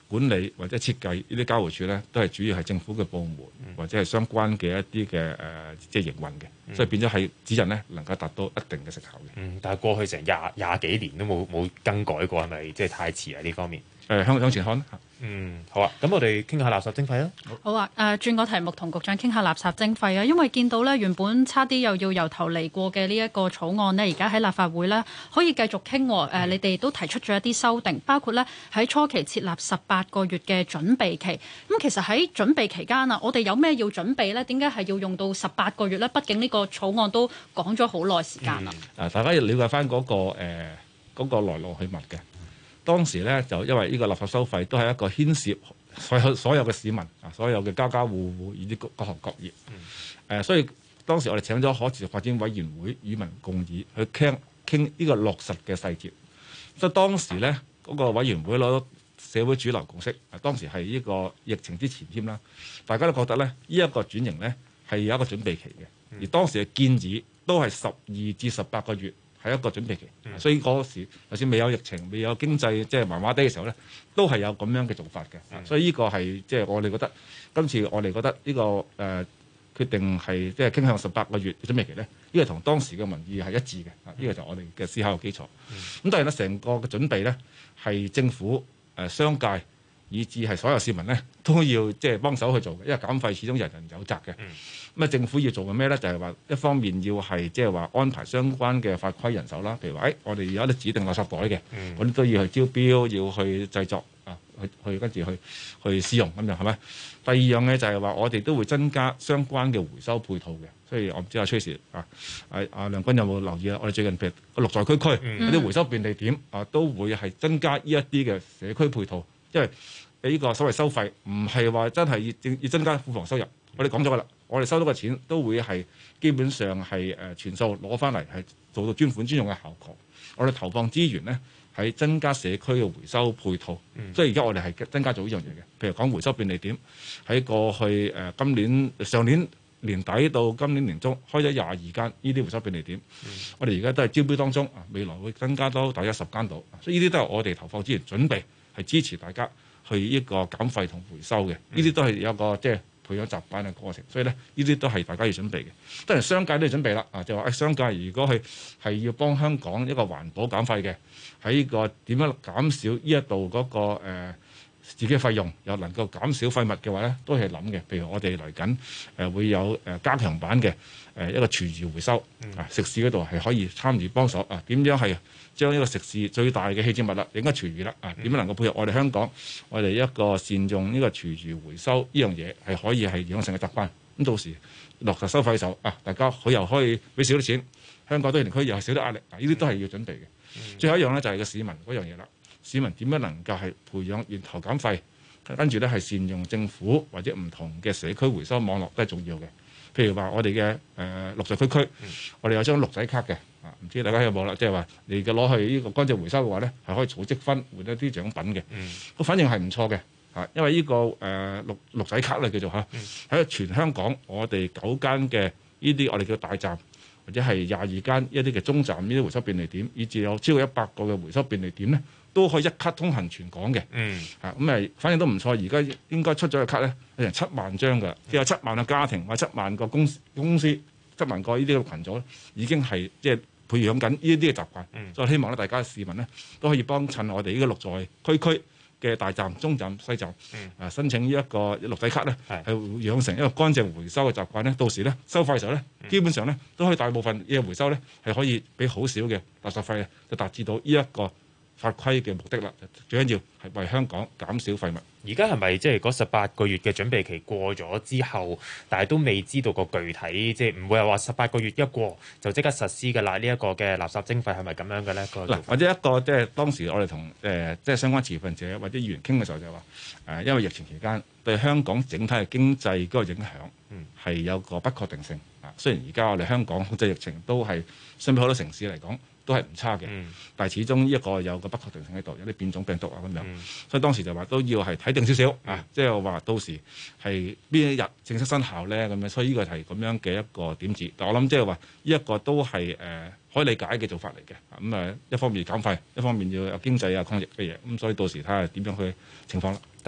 管理或者設計呢啲交匯處咧，都係主要係政府嘅部門或者係相關嘅一啲嘅即係營運嘅，所以變咗係指引咧能夠達到一定嘅成效嘅。 但係過去成廿幾年都冇更改過，係咪即係太遲啊？呢方面向前看。 好啊，咁我哋傾下垃圾徵費啦。 好啊，轉個題目同局長傾下垃圾徵費啊，因為見到咧原本差啲又要由頭嚟過嘅呢一個草案呢，而家喺立法會呢可以繼續傾。你哋都提出咗一啲修訂，包括呢喺初期設立18個月嘅準備期。咁其實喺準備期間啊，我哋有咩要準備呢？點解係要用到18個月呢？畢竟呢個草案都講咗好耐時間啦。 大家要了解翻嗰個來龍去脈嘅。當時咧就因為呢個垃圾收費都係一個牽涉所有嘅市民啊，所有嘅家家戶戶以及各行各業。所以當時我哋請咗可持續發展委員會與民共議去傾呢個落實嘅細節。所以當時咧嗰個委員會攞到社會主流共識，當時係呢個疫情之前添啦，大家都覺得咧呢一個轉型咧係有一個準備期嘅，而當時嘅建議都係12至18個月。係一個準備期，所以嗰時就算未有疫情、未有經濟即係麻麻地嘅時候咧，都係有咁樣嘅做法嘅。所以呢個係即係我哋覺得今次我哋覺得呢個決定係即係傾向18個月嘅準備期咧，呢個同當時嘅民意係一致嘅。呢個就係我哋嘅思考嘅基礎。咁當然啦，成個嘅準備咧係政府、商界以至係所有市民咧都要即係幫手去做嘅，因為減費始終人人有責嘅。咁政府要做嘅咩咧？就係話一方面要係即係話安排相關嘅法規人手啦，譬如話我哋有啲指定垃圾袋嘅，我哋都要去招標，要去製作啊，去跟住去試用咁樣係咪？第二樣嘅就係話我哋都會增加相關嘅回收配套嘅，所以我唔知阿崔 Sir 阿梁君有冇留意啊？我哋最近譬如綠在區嗰啲回收便利點都會係增加呢一啲嘅社區配套，因為呢個所謂收費唔係話真係要增加庫房收入，我哋講咗㗎啦。我哋收到嘅錢都會係基本上係全數攞翻嚟，係做到專款專用嘅效果。我哋投放資源咧喺增加社區嘅回收配套，所以而家我哋係增加咗呢樣嘢嘅。譬如講回收便利點，喺過去上年年底到今年年中開咗22間呢啲回收便利點，我哋而家都係招標當中，未來會增加多大約10間度，所以呢啲都係我哋投放資源準備係支持大家去呢個減費同回收嘅。呢啲都係有個即係培養習慣嘅過程，所以咧呢啲都係大家要準備嘅。當然商界都要準備啦，就話商界如果係要幫香港一個環保減費嘅，喺呢個點樣減少呢一度嗰個自己嘅費用，又能夠減少廢物嘅話咧，都係諗嘅。譬如我哋嚟緊會有加強版嘅一個廚餘回收食肆嗰度係可以參與幫手點樣係將呢個食肆最大嘅棄置物啦，應該廚餘啦點樣能夠配合我哋香港，我哋一個善用呢個廚餘回收呢樣嘢係可以係養成嘅習慣。咁到時落實收費嘅時候大家佢又可以俾少啲錢，香港堆填區又係少啲壓力呢啲都係要準備嘅。最後一樣咧就係個市民嗰樣嘢啦。市民點樣能夠係培養源頭減費，跟住咧係善用政府或者唔同嘅社區回收網絡都係重要嘅。譬如話我哋嘅綠在區，我哋有張綠仔卡嘅唔知大家有冇啦？即係話你嘅攞去呢個乾淨回收嘅話咧，係可以儲積分換一啲獎品嘅。反正係唔錯嘅因為呢個綠仔卡咧叫做喺全香港我哋9間嘅呢啲我哋叫大站，或者係22間一啲嘅中站呢啲回收便利點，以至有超過100個嘅回收便利點咧，都可以一卡通行全港嘅。反正都唔錯。而家應該出咗嘅卡咧，有成7萬張㗎，即係有7萬個家庭或者7萬個公司7萬個呢啲嘅群組，已經係即係培養緊呢啲嘅習慣。所以希望咧，大家市民咧都可以幫襯我哋呢個綠在區嘅大站、中站、西站申請呢一個綠仔卡咧，係養成一個乾淨回收嘅習慣咧。到時咧收費嘅時候咧，基本上咧都可以大部分呢個回收咧係可以俾好少嘅垃圾費就達至到呢一個法規嘅目的啦。最緊要係為香港減少廢物。 而家係咪即係嗰18個月嘅準備期過咗之後，但係都未知道個具體，即係唔會係話18個月一過就即刻實施嘅啦？呢一個嘅垃圾徵費係咪咁樣嘅咧？ 嗱，或者一個即係當時我哋同即係相關持份者或者議員傾嘅時候就話因為疫情期間對香港整體嘅經濟嗰個影響係有個不確定性雖然而家我哋香港控制疫情都係相比好多城市嚟講都係唔差嘅，但係始終呢一個有個不確定性喺度，有啲變種病毒咁樣，所以當時就話都要係睇定少少即係話到時係邊一日正式生效咧咁樣，所以呢個係咁樣嘅一個點子。但我諗即係話呢一個都係可以理解嘅做法嚟嘅。咁一方面減費，一方面要有經濟抗疫嘅嘢，咁所以到時睇下點樣去情況啦。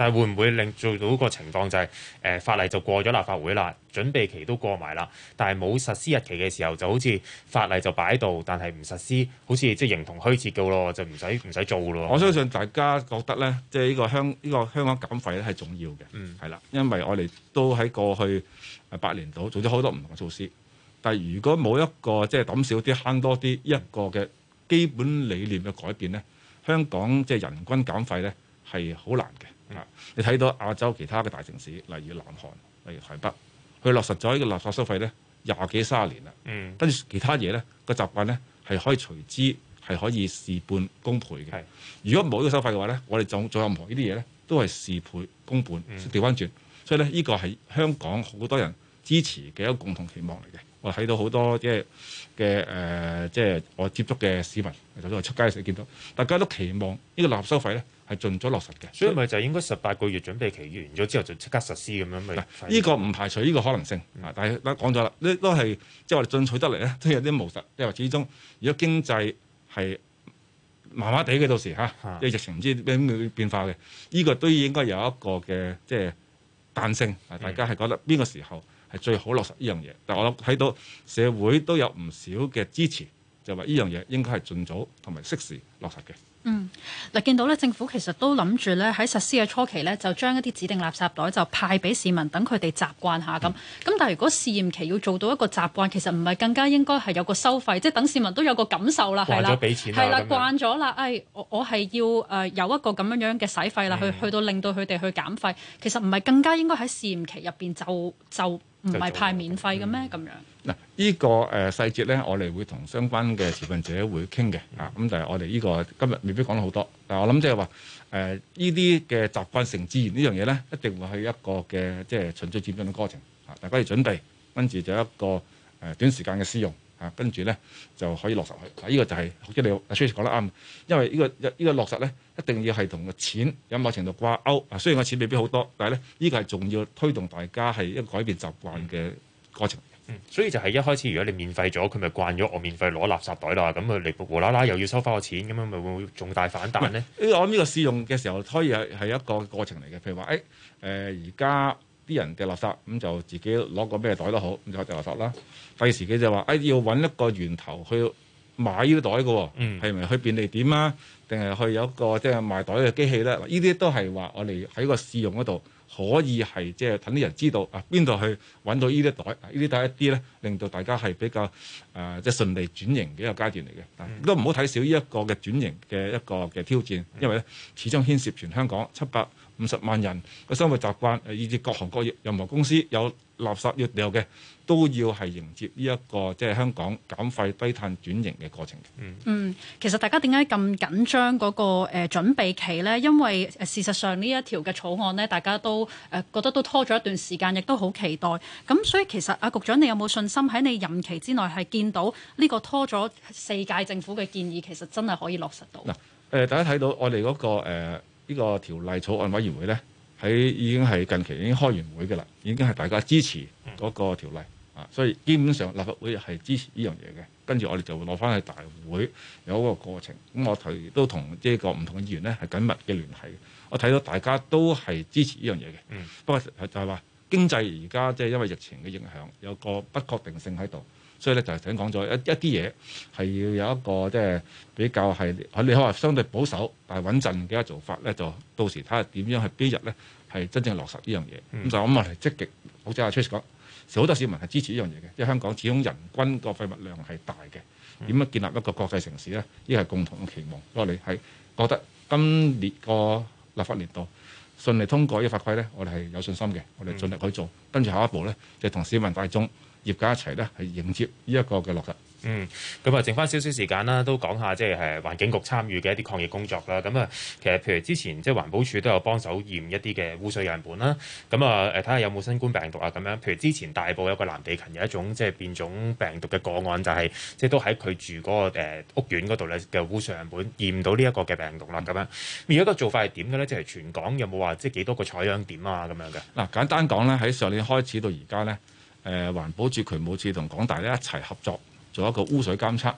但係會唔會令做到個情況就係、法例就過咗立法會啦，準備期都過埋啦，但係冇實施日期嘅時候，就好似法例就擺喺度，但係唔實施，好似即係形同虛設嘅咯，就唔使做咯。 我相信大家覺得咧，即係呢個香港減廢咧係重要嘅，係啦，因為我哋都喺過去8年度做咗好多唔同嘅措施，但係如果冇一個即係抌少啲慳多啲一個嘅基本理念嘅改變咧，香港即係人均減廢咧係好難嘅。你睇到亞洲其他嘅大城市，例如南韓、例如台北，佢落實咗呢個垃圾收費咧20幾30年啦。跟住其他嘢咧個習慣咧係可以隨之係可以事半功倍嘅。如果冇呢個收費嘅話咧，我哋做任何呢啲嘢咧都係事倍功半，調翻轉。所以咧呢個係香港好多人支持嘅一個共同期望嚟嘅。我睇到好多即係我接觸嘅市民，就算我出街嘅時候見到，大家都期望呢個垃圾收費咧係盡咗落實嘅。 所以咪就應該18個月準備期完咗之後就即刻實施咁樣咪？ 呢個唔排除呢個可能性。但係講咗啦，呢都係即係我哋進取得嚟咧，都有啲務實。即係話始終，如果經濟係麻麻地嘅，到時即係疫情唔知咩變化嘅，呢個都應該有一個嘅即係彈性。大家係覺得邊個時候係最好落實呢樣嘢？但係我睇到社會都有唔少嘅支持，就話呢樣嘢應該係盡早同埋適時落實嘅。 嗱，見到咧政府其實都諗住咧喺實施嘅初期咧，就將一啲指定垃圾袋就派俾市民，等佢哋習慣下咁。咁但係如果試驗期要做到一個習慣，其實唔係更加應該係有個收費，即係等市民都有個感受啦，係啦，係啦，慣咗啦，我係要有一個咁樣嘅使費啦，去到令到佢哋去減費。其實唔係更加應該喺試驗期入邊就唔係派免費嘅咩？咁樣嗱，呢個細節咧，我哋會同相關嘅持份者會傾嘅咁但係我哋呢個今日未必講得好多。但係我諗即係話呢啲嘅習慣成自然呢樣嘢咧，一定會係一個嘅即係循序漸進嘅過程大家要準備，跟住就一個短時間嘅試用跟住咧就可以落實去。呢個就係好似你阿 Trace 講得啱，因為呢個落實咧一定要係同個錢有某程度掛鈎。雖然個錢未必好多，但係咧呢個係重要推動大家係一個改變習慣嘅過程。 所以就係一開始如果你免費咗，佢咪慣咗我免費攞垃圾袋啦，咁佢嚟無啦啦又要收翻我錢，咁樣咪會重大反彈咧？ 我諗呢個試用嘅時候可以係一個過程嚟嘅。譬如話而家啲人掉垃圾咁就自己攞個咩袋都好，咁就掉垃圾啦。第時佢就話要揾一個源頭去買呢啲袋嘅喎，係咪去便利店啊？定係去有一個即係賣袋嘅機器咧？呢啲都係話我哋喺個試用嗰度可以係即係等啲人知道邊度去揾到呢啲袋，呢啲袋一啲咧，令到大家係比較即係順利轉型嘅一個階段嚟嘅。都唔好睇少呢一個嘅轉型嘅一個嘅挑戰，因為咧始終牽涉全香港750萬人嘅生活習慣，以至各行各業任何公司有垃圾要掉嘅，都要係迎接呢一個即係香港減廢低碳轉型嘅過程。 其實大家點解咁緊張嗰個準備期呢？因為事實上呢一條嘅草案呢，大家都覺得都拖咗一段時間，亦都好期待。咁所以其實局長，你有冇信心喺你任期之內係見到呢個拖咗4屆政府嘅建議，其實真係可以落實到？ 大家睇到我哋嗰個呢個條例草案委員會咧，已經係近期已經開完會嘅啦，已經係大家支持嗰個條例所以基本上立法會係支持呢樣嘢嘅。跟住我哋就會攞翻去大會有一個過程。咁我都同呢個唔同嘅議員咧係緊密嘅聯繫。我睇到大家都係支持呢樣嘢嘅。不過就係話經濟而家即係因為疫情嘅影響，有個不確定性喺度。所以咧就係頭先講咗一啲嘢係要有一個即係比較係你可以話相對保守但係穩陣嘅一個做法咧，就到時睇下點樣去邊日咧係真正落實呢樣嘢。咁就咁我哋積極，好似阿 Trace 講，好多市民係支持呢樣嘢嘅，因為香港始終人均個廢物量係大嘅，點樣建立一個國際城市咧？呢係共同嘅期望。所以我哋係覺得今年個立法年度順利通過呢個法規咧，我哋係有信心嘅，我哋盡力去做。跟住下一步咧，就同市民大眾業界一齊咧，係迎接呢一個嘅落實。 咁啊，剩翻少少時間啦，都講下即係環境局參與嘅一啲抗疫工作啦。咁啊，其實譬如之前即係環保署都有幫手驗一啲嘅污水樣本啦。咁啊，睇下有冇新冠病毒啊咁樣。譬如之前大埔有個藍地勤有一種即係變種病毒嘅個案，就係即係都喺佢住嗰個屋苑嗰度咧嘅污水樣本驗到呢一個嘅病毒啦。咁樣而家個做法係點嘅咧？即係全港有冇話即係幾多個採樣點啊咁樣嘅？ 嗱，簡單講咧，喺上年開始到而家咧，環保署、渠務署同港大咧一齊合作。做一個污水監測，睇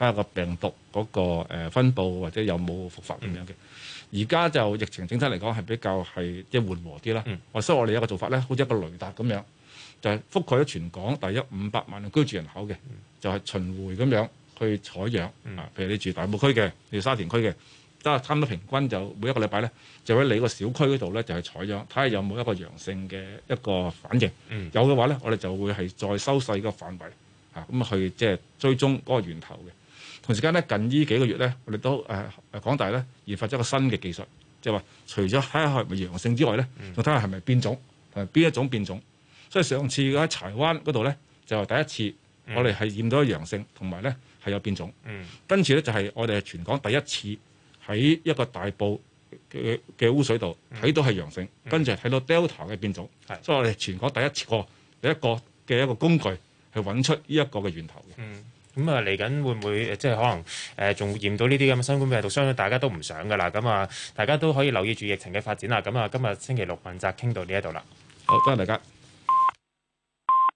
下個病毒嗰個分佈或者有冇復發咁樣嘅。而家就疫情整體嚟講係比較係即係緩和啲啦。所以我哋有一個做法咧，好似一個雷達咁樣，就係覆蓋咗全港大約500萬嘅居住人口嘅，就係巡迴咁樣去採樣。譬如你住大埔區嘅，你住沙田區嘅，都係差唔多平均就每一個禮拜咧，就喺你個小區嗰度咧就係採樣，睇下有冇一個陽性嘅一個反應。有嘅話咧，我哋就會係再收細個範圍咁去即係追蹤嗰個源頭嘅。同時間咧，近呢幾個月咧，我哋都港大咧研發咗一個新嘅技術，即係話除咗睇下係咪陽性之外咧，仲睇下係咪變種同埋邊一種變種。所以上次喺柴灣嗰度咧，就係第一次我哋係驗到陽性，同埋咧係有變種。跟住咧就係我哋係全港第一次喺一個大埔嘅污水度睇到係陽性，跟住睇到 Delta 嘅變種。所以我哋全港第一個嘅一個工具去揾出呢一個嘅源頭嘅。 咁啊，嚟緊會唔會即係可能仲驗到呢啲咁嘅新冠病毒？相信大家都唔想噶啦。咁啊，大家都可以留意住疫情嘅發展啦。咁啊，今日星期六問責傾到呢一度啦。 好，多謝大家。